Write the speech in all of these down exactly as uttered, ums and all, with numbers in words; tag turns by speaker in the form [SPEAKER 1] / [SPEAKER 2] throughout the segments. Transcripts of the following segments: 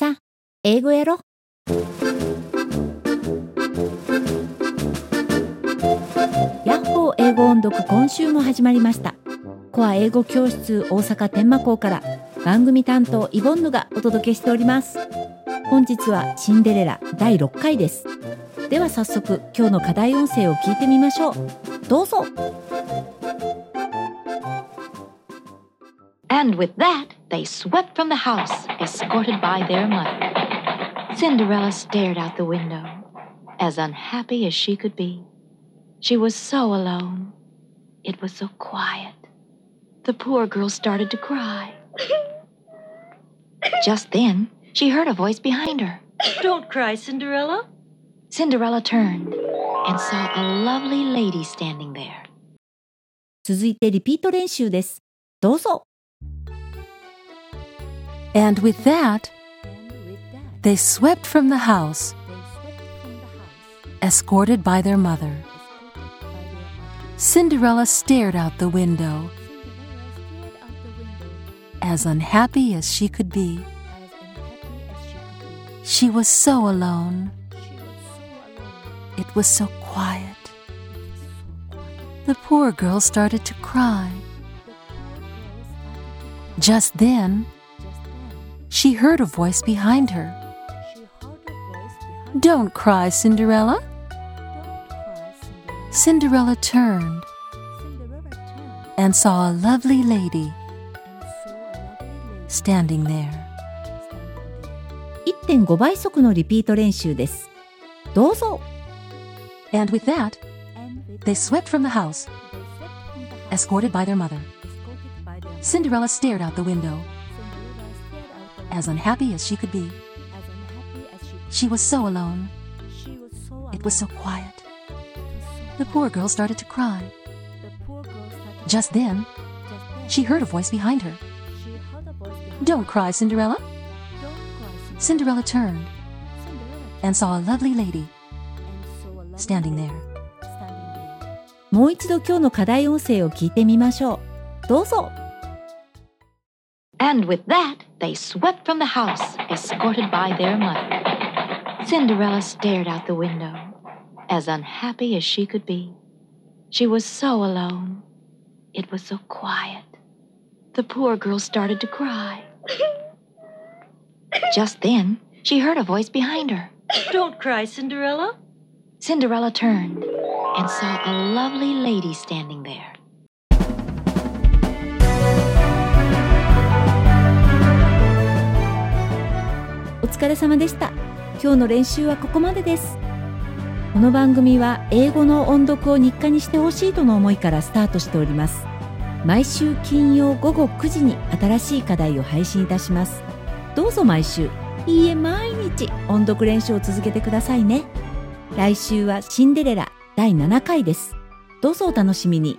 [SPEAKER 1] さあ、英語やろ。ヤッホー英語音読、今週も始まりました。コア英語教室大阪天満校から番組担当イボンヌがお届けしております。本日はシンデレラだいろっかいです。では早速今日の課題音声を聞いてみましょう。どうぞ。
[SPEAKER 2] And with that, they swept from the house, escorted by their mother. Cinderella stared out the window, as unhappy as she could be. She was so alone. It was so quiet. The poor girl started to cry. Just then, she heard a voice behind her.
[SPEAKER 3] Don't cry, Cinderella.
[SPEAKER 2] Cinderella turned and saw a lovely lady standing there.
[SPEAKER 1] 続いてリピート練習です。どうぞ。
[SPEAKER 4] And with that, they swept from the house, escorted by their mother. Cinderella stared out the window, as unhappy as she could be. She was so alone. It was so quiet. The poor girl started to cry. Just then, she heard a voice behind her. Don't cry, Cinderella. Cinderella turned and saw a lovely lady standing there.
[SPEAKER 1] いってんご 倍速のリピート練習です。どうぞ。
[SPEAKER 4] And with that, they swept from the house, escorted by their mother. Cinderella stared out the window, as unhappy as she could be. She was so alone. It was so quiet. The poor girl started to cry. Just then, she heard a voice behind her. Don't cry, Cinderella. Cinderella turned and saw a lovely lady standing there.
[SPEAKER 1] もう一度今日の課題音声を聞いてみましょう。どうぞ。
[SPEAKER 2] And with that, they swept from the house, escorted by their mother. Cinderella stared out the window, as unhappy as she could be. She was so alone. It was so quiet. The poor girl started to cry. Just then, she heard a voice behind her.
[SPEAKER 3] Don't cry, Cinderella.
[SPEAKER 2] Cinderella turned and saw a lovely lady standing there.
[SPEAKER 1] お疲れ様でした。今日の練習はここまでです。この番組は英語の音読を日課にしてほしいとの思いからスタートしております。毎週金曜ごごくじに新しい課題を配信いたします。どうぞ毎週、いいえ毎日音読練習を続けてくださいね。来週はシンデレラだいななかいです。どうぞお楽しみに。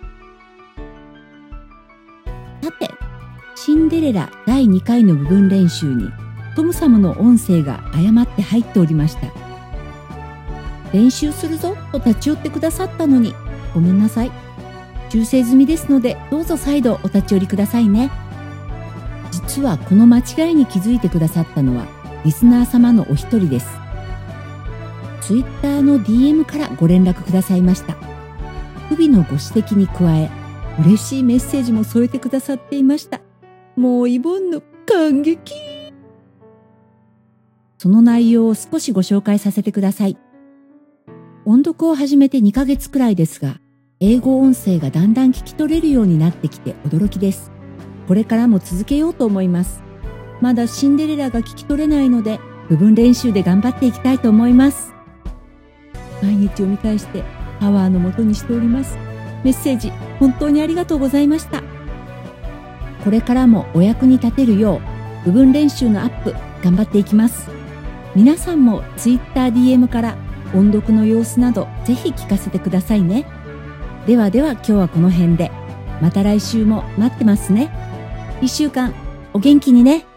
[SPEAKER 1] さて、シンデレラだいにかいの部分練習にトムサムの音声が誤って入っておりました。練習するぞと立ち寄ってくださったのにごめんなさい。修正済みですのでどうぞ再度お立ち寄りくださいね。実はこの間違いに気づいてくださったのはリスナー様のお一人です。ツイッターの ディーエム からご連絡くださいました。不備のご指摘に加え嬉しいメッセージも添えてくださっていました。もうイボンヌ感激。その内容を少しご紹介させてください。音読を始めてにかげつくらいですが、英語音声がだんだん聞き取れるようになってきて驚きです。これからも続けようと思います。まだシンデレラが聞き取れないので、部分練習で頑張っていきたいと思います。毎日読み返してパワーのもとにしております。メッセージ本当にありがとうございました。これからもお役に立てるよう、部分練習のアップ頑張っていきます。皆さんも ツイッター ディーエム から音読の様子などぜひ聞かせてくださいね。ではでは今日はこの辺で。また来週も待ってますね。いっしゅうかんお元気にね。